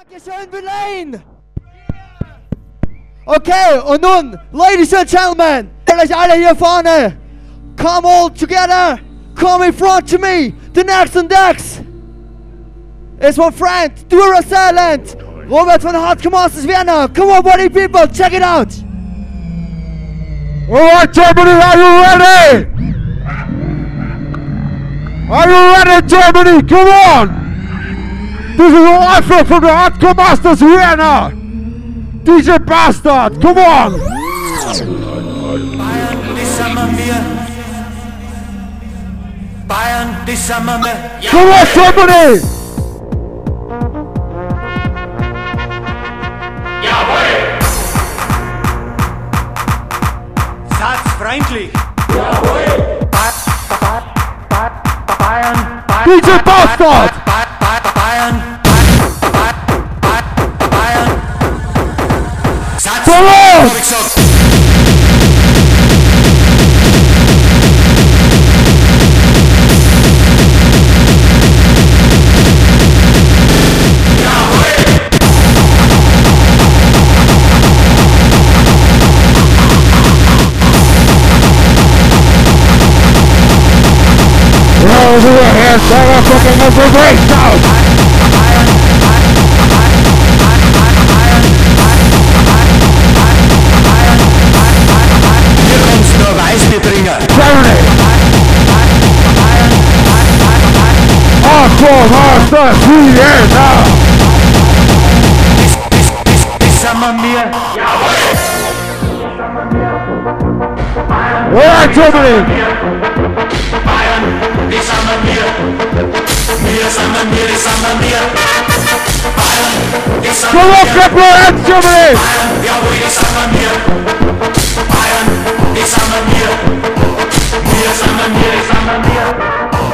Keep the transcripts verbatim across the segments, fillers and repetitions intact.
Dankeschön, Berlin! Okay, und nun, Ladies and Gentlemen, euch alle hier vorne, come all together, come in front to me, the next and next is my friend, Duracellent, Robert von Hardcore Masters Vienna. Come on, buddy people, check it out! Alright, Germany, are you ready? Are you ready, Germany? Come on! This is a live from the Hardcore Masters Vienna! D J Bastard, come on! Bayern, die sind wir mir. Bayern, die sind wir mir. Come on, Germany! Jawohl! Satzfreundlich! Jawohl! Ba ba ba ba Bayern, Bayern, D J Bastard! Ba ba ba Bayern, Ba ba ba Bayern. Come on! Hab ich gesagt. Roll to your hands, motherfucking of the breakdown! Hier kommt's nur Weißbierbringer. Germany! Hardcore Masters Vienna! Das sind wir mir. Alright, Germany! Bayern, die sind wir mir. Wir sind wir mir, die sind wir mir. Bayern, die sind wir Come on, mir. clap your hands, Germany! Bayern, jawohl, die sind wir mir. Bayern, die sind wir mir. Wir sind wir mir, die sind wir mir.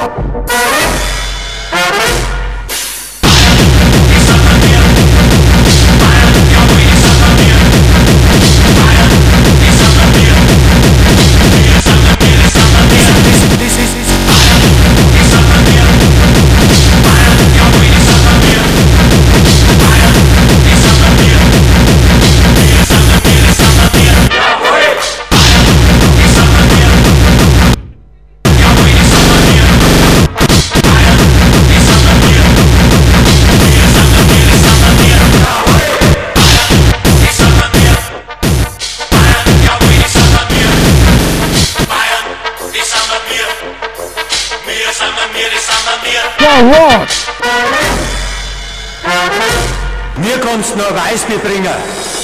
Mir kommt's nur Weißbierbringer.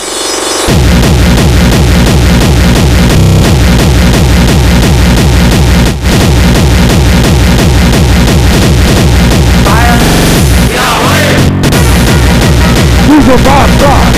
Bayern, jawohl! Diese Bastard!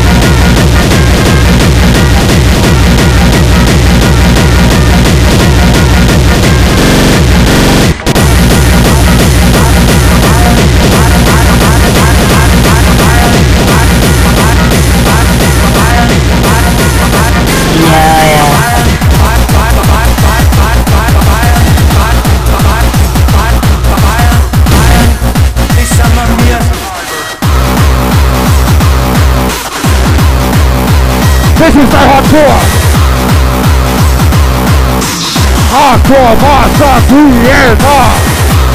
This is the hardcore! Hardcore Masters Vienna!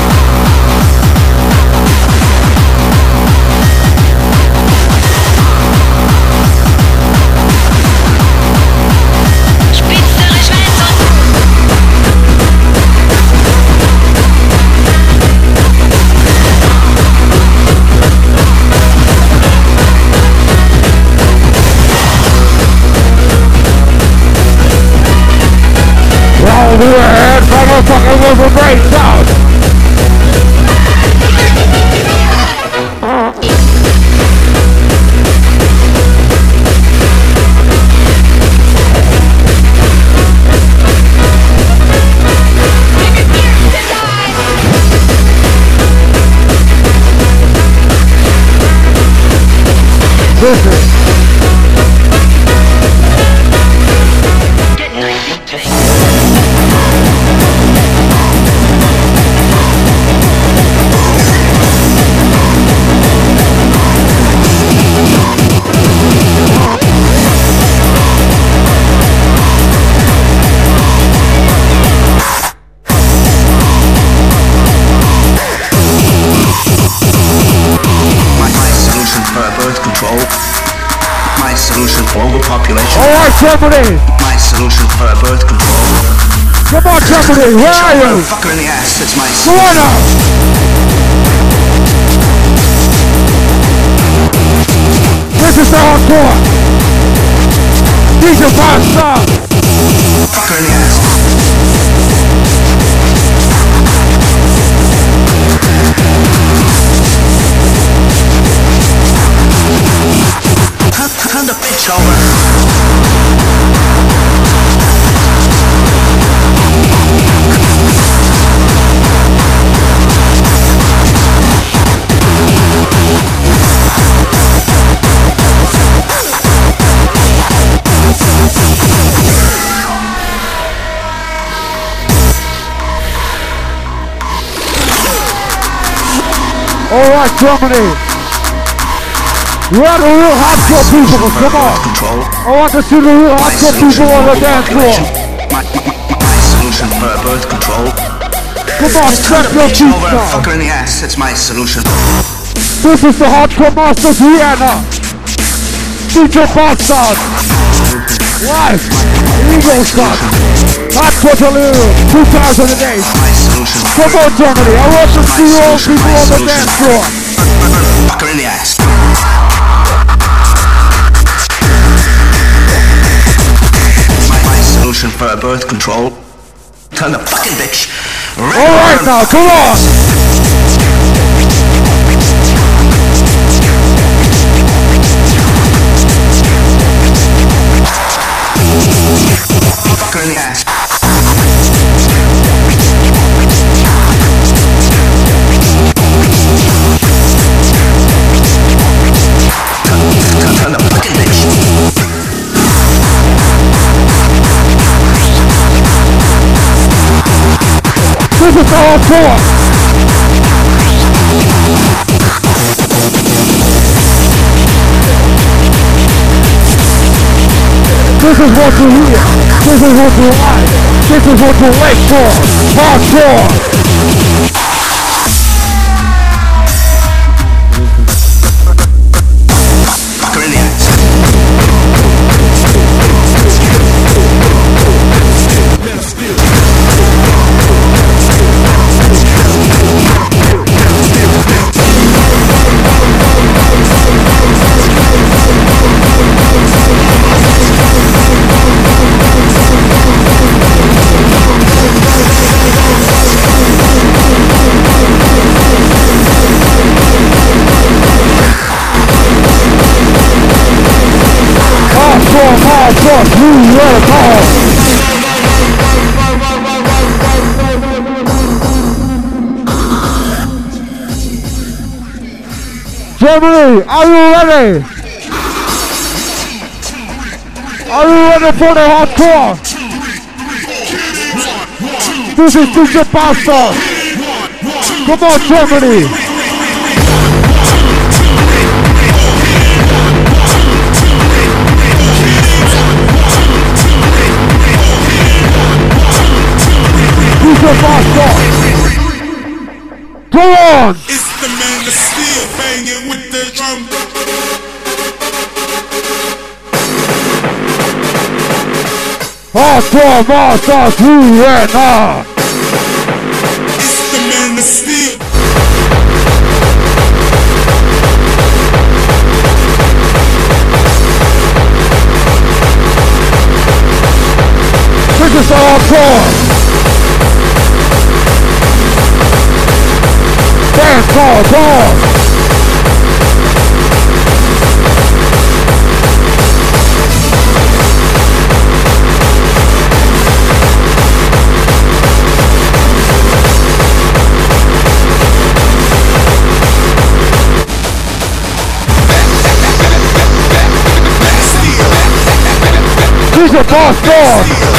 Roll to your hands, motherfucking with a breakdown! This is control. My solution for overpopulation. Alright, Germany! My solution for birth control. Come on, Germany, where are you? Fucker in the ass, it's my Go on now! This is the hardcore! D J Bastard! fucker in the ass. Turn, turn the bitch over. Alright, Germany! You are the real hardcore people, come on! Control. I want to see the real hardcore people on the dance floor! My, my, my solution for birth control. Come on, Just turn step the your bitch feet over and down! fuck her in the ass, it's my solution. This is the Hardcore Masters Vienna! D J Bastard! Live! Eagle Shot! Hardcore Delirium two thousand eight! My solution. Come on, Germany! I want to see all people on the dance floor! Fuck her in the ass. My, my solution for birth control. Turn the fucking bitch. Right Alright on. now, come on! Fuck her in the ass. Turn, turn, turn the fucking bitch. This is all four! This is what you hear! This is what you like! This is what you wait for! Hardcore! Fuck her in the ass. Hardcore, hardcore, you let it go! Germany, are you ready? Are you ready for the hardcore? This is D J Bastard! Come on, Germany! D J Bastard! Go on! It's the man that's still banging with the drum. Hardcore Masters Vienna! It's the man that's still. This is hardcore! Dance hall, ball! D J Bastard!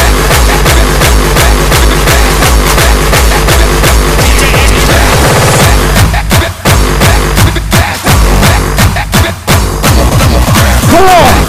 Come on!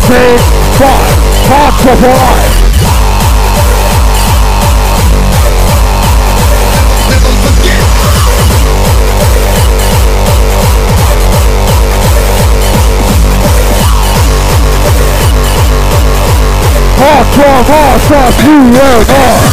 six, five, hardcore for life. Never forget. Hardcore, hardcore, New World Order.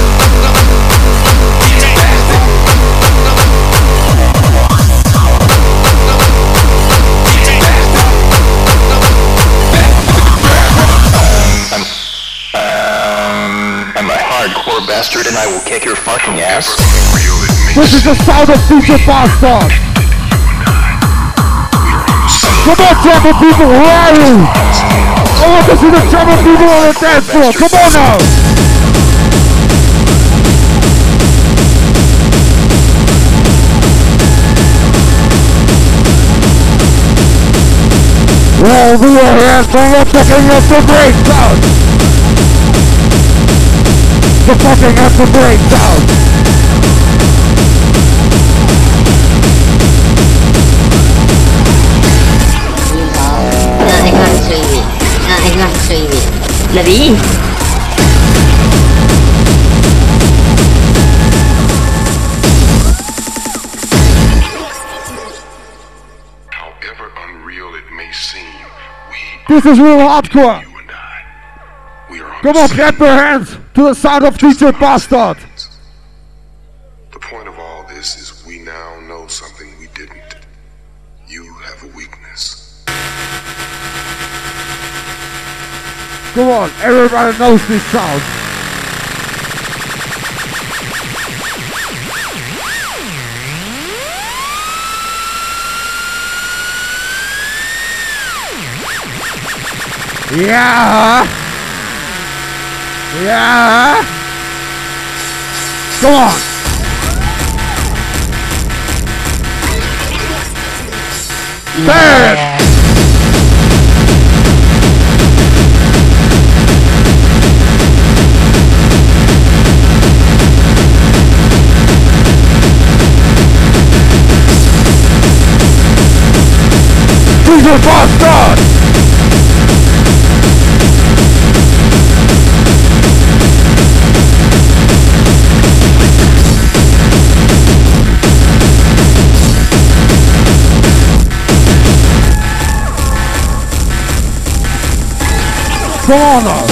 Hardcore bastard, and I will kick your fucking ass. This is the sound of D J Bastard. Come on, German people, where are you? I want to see the German people on the dance floor. Come on now. Well, we are here, so we're picking up the great sound. The fucking up the great sound. Anh Hoàng suy vị, anh Hoàng suy vị là gì? However unreal it may seem, we, This is real hardcore. you and I, we are on Come the on, same clap your hands to the sound of D J Bastard. The point of all this is we now know something we didn't. You have a weakness. Come on, everybody knows this sound. Yeah. Yeah. Come on. Third. D J Bastard. Come on now.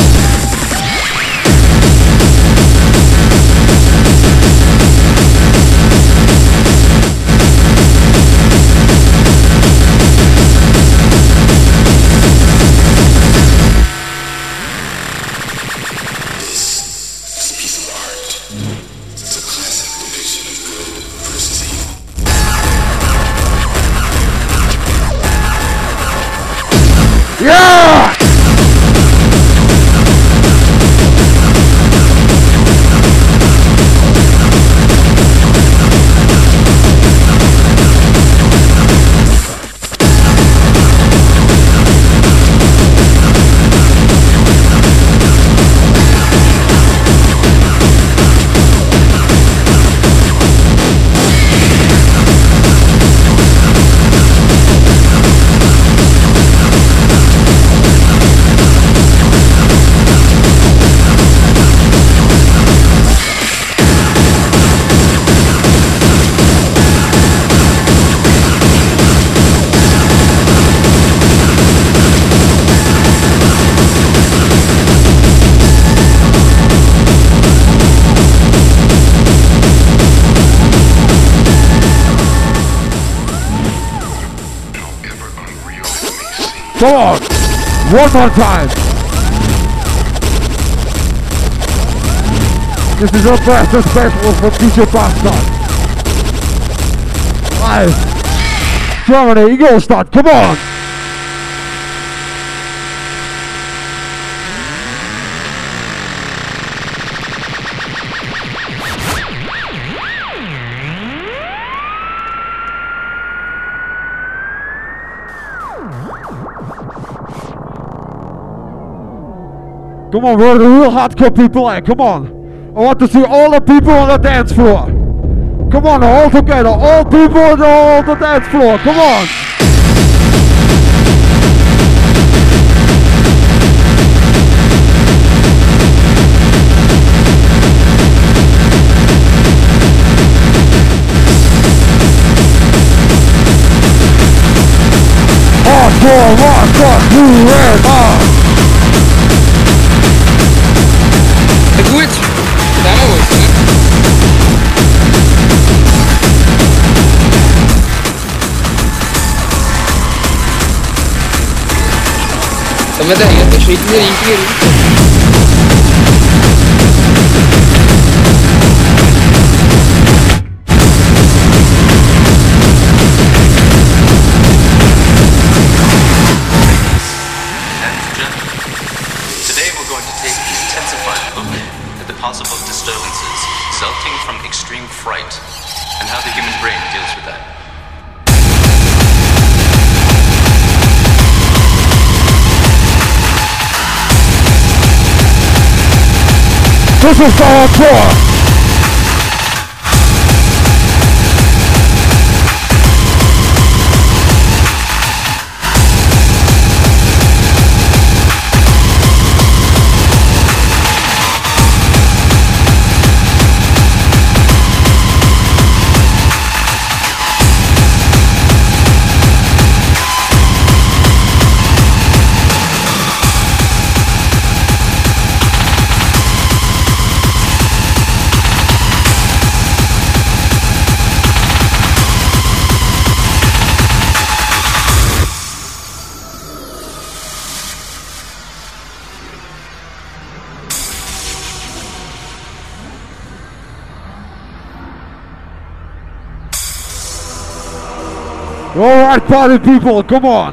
Yeah! Come on! One more time! This is your best and special for D J Bastard! Live! Germany, Ingolstadt, come on! Come on, where are the real hardcore people at? Come on. I want to see all the people on the dance floor. Come on, all together. All people on the dance floor. Come on. hardcore, hardcore, forever. Ja gut, da haben wir was, ne? Aber der erste Schritt in die richtige Richtung. Today we're going to take an intensified look at the possible disturbances resulting from extreme fright and how the human brain deals with that. This is our tour. Alright, party people, come on.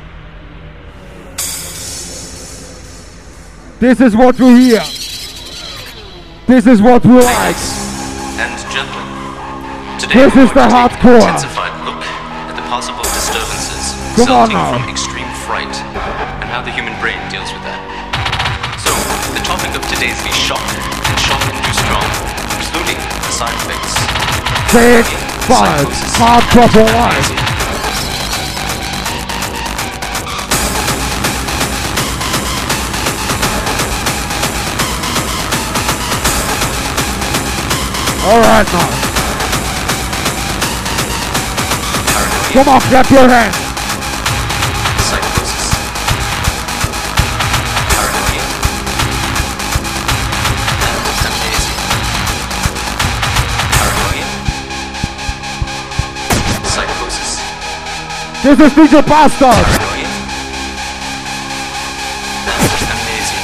This is what we hear. This is what we like. And gentlemen, today this we're is the going to take hardcore. an intensified look at the possible disturbances Come on resulting now. from extreme fright and how the human brain deals with that. So, the topic of today is the shock and shock-induced trauma, including the side effects. Six, five, hard proper life. Alright now. Come on, clap your hands. Psychosis. Paranoia. And amnesia. Paranoia. Psychosis. This is D J Bastard. Paranoia. And amnesia.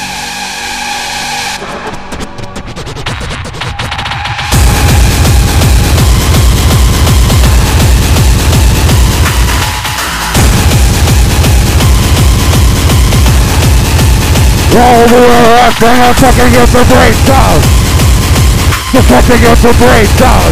Roll the earth and I'm fucking get the breakdown. The fucking get the breakdown.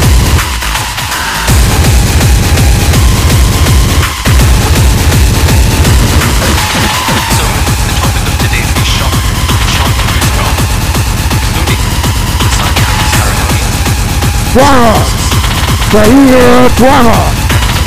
So, the topic of today is the shock, shock-induced trauma, including the side effects paranoia, Drama. The here drama.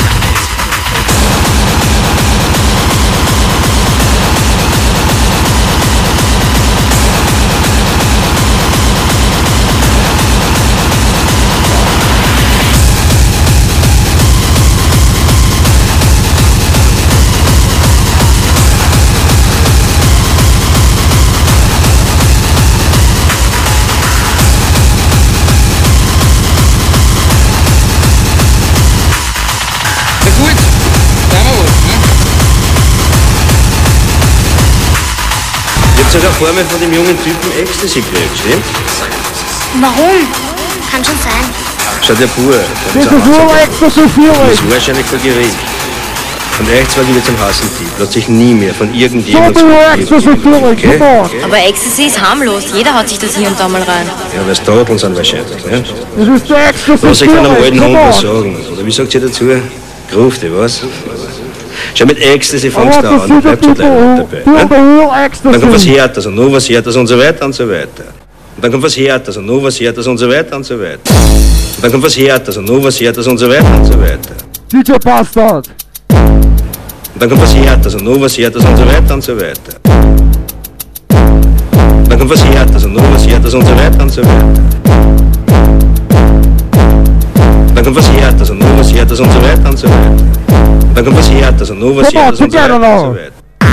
Sogar Formel von dem jungen Typen Ecstasy gekriegt, stimmt? Warum? Kann schon sein. Schau, der Bur, Das ist nur Ecstasy das Feeling. ist wahrscheinlich vor Gericht. Und echt zwar wieder zum Hassen Typ. Lässt sich nie mehr von irgendjemandem So nur Ecstasy Feeling, okay? come on. Aber Ecstasy ist harmlos. Jeder hat sich das hier und da mal rein. Ja, weil es Todeln sind wahrscheinlich, ne? Das ist der Ecstasy Was ich von einem alten Feeling, Hund come was on. sagen. Oder wie sagt ihr dazu? Grufte, was? Schau, mit Ecstasy I fängst want du to an, see dann the bleibst du people gleich who dabei. feel Ne? the real Dann kommt was ecstasy. Härteres und noch was Härteres und so weiter und so weiter. Und dann kommt was Härteres und noch was Härteres und so weiter und so weiter. Und dann kommt was Härteres und noch was Härteres und so weiter und so weiter. D J Bastard. Und dann kommt was Härteres und noch was Härteres und so weiter und so weiter. Und dann kommt was Härteres und noch was Härteres und so weiter und so weiter. Dann dann kommt was Härtes und nur was Härtes und so weiter und so weiter. Und dann kommt was Härtes und nur was Härtes und so weiter und so weiter.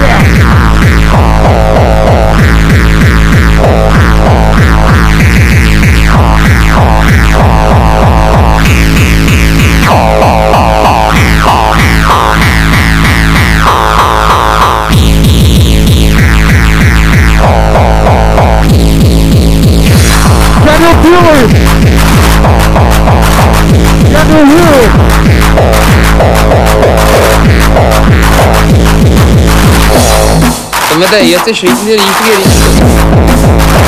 Can you feel it? Can you hear it? De är jätteskiten i riktiga riktiga.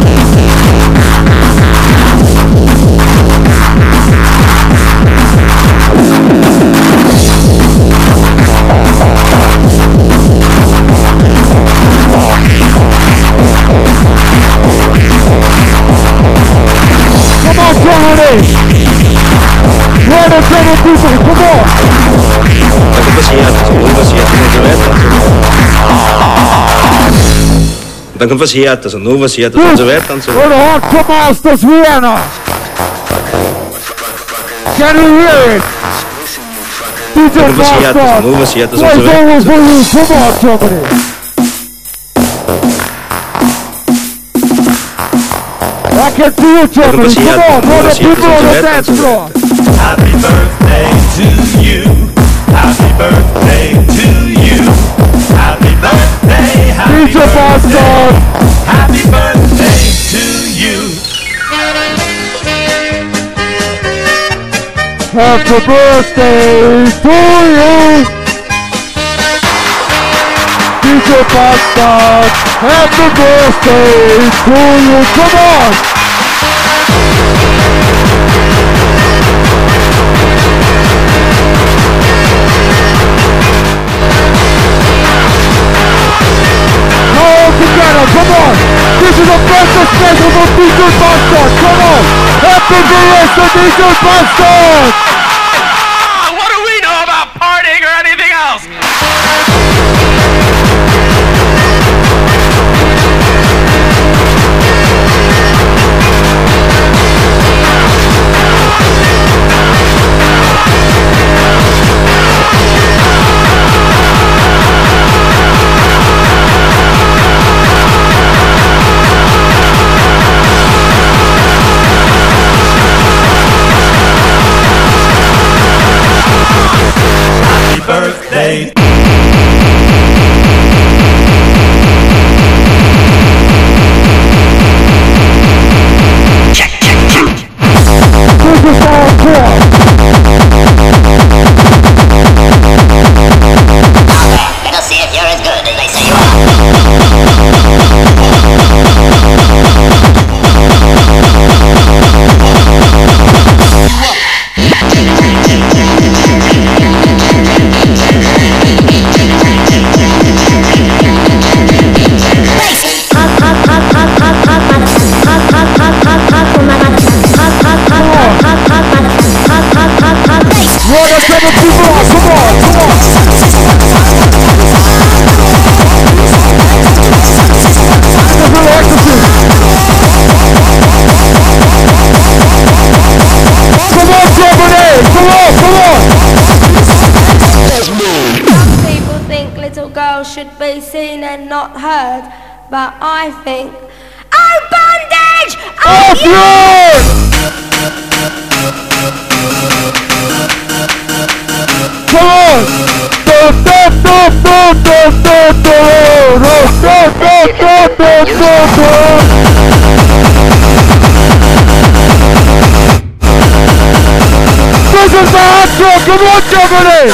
Come on, Germany! Where the German people? Come on! Dann kommt was Härtes und nur was Härtes und so weiter und so weiter. Und dann kommt was Härtes und nur was Härtes und so weiter und so weiter. The Hardcore Masters Vienna! Can you hear it? D J Dann kommt was Härtes und nur was Härtes und so weiter und so weiter. Come on, Germany! I can see you, Germany. Come on, all the people on the dance floor. Happy birthday to you. Happy birthday to you. Happy birthday, happy D J Boston. Happy birthday to you. Happy birthday to you. D J Boston. Happy birthday to you. Come on. Together, come on! This is a birthday special for D J Boston! Come on! Happy birthday, D J Boston! What do we know about partying or anything else? Birthday. Check, check, check. This is our tour. Let's see if you're as good as they say you are. What are some people? Come on, come on. Come on, Germany! Come on, come on! Some people think little girls should be seen and not heard, but I think, oh bondage! Oh, oh yeah! Come on! Do, do, do, do, do, do, do, do, do, do, do, do. This is the hot show! Come on, Germany!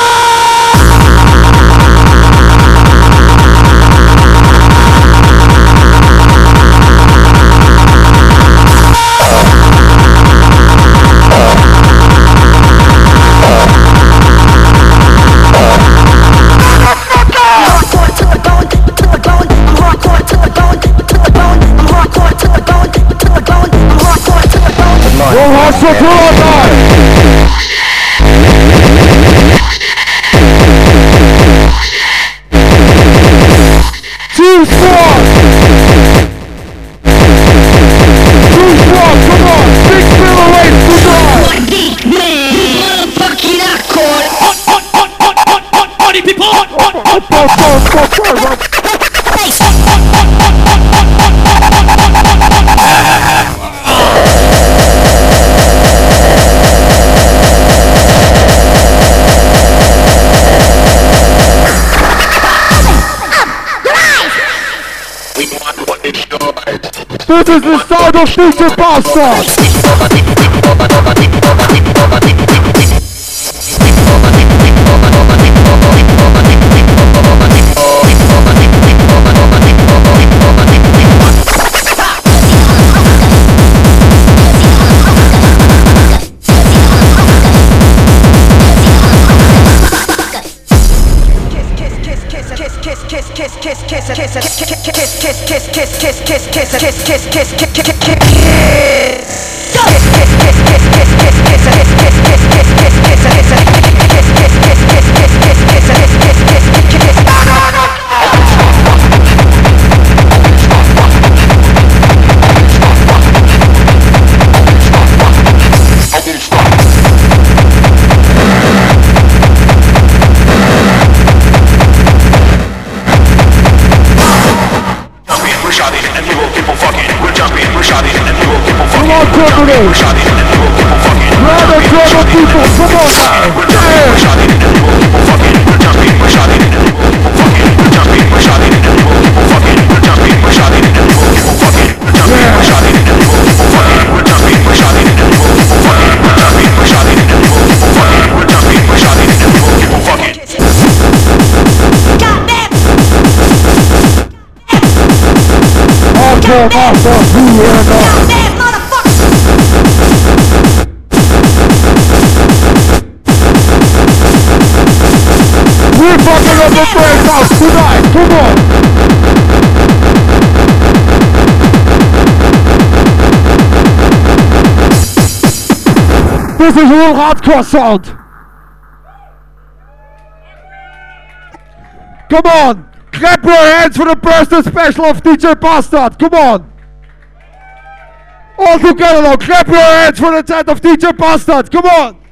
Hardcore tour all night! Two squads! Two squads, come on! Six middleweights to drive! This is the sound of D J Bastard! This is real hardcore sound. Come on, clap your hands for the birthday special of D J Bastard. Come on. All together now, clap your hands for the set of D J Bastard. Come on.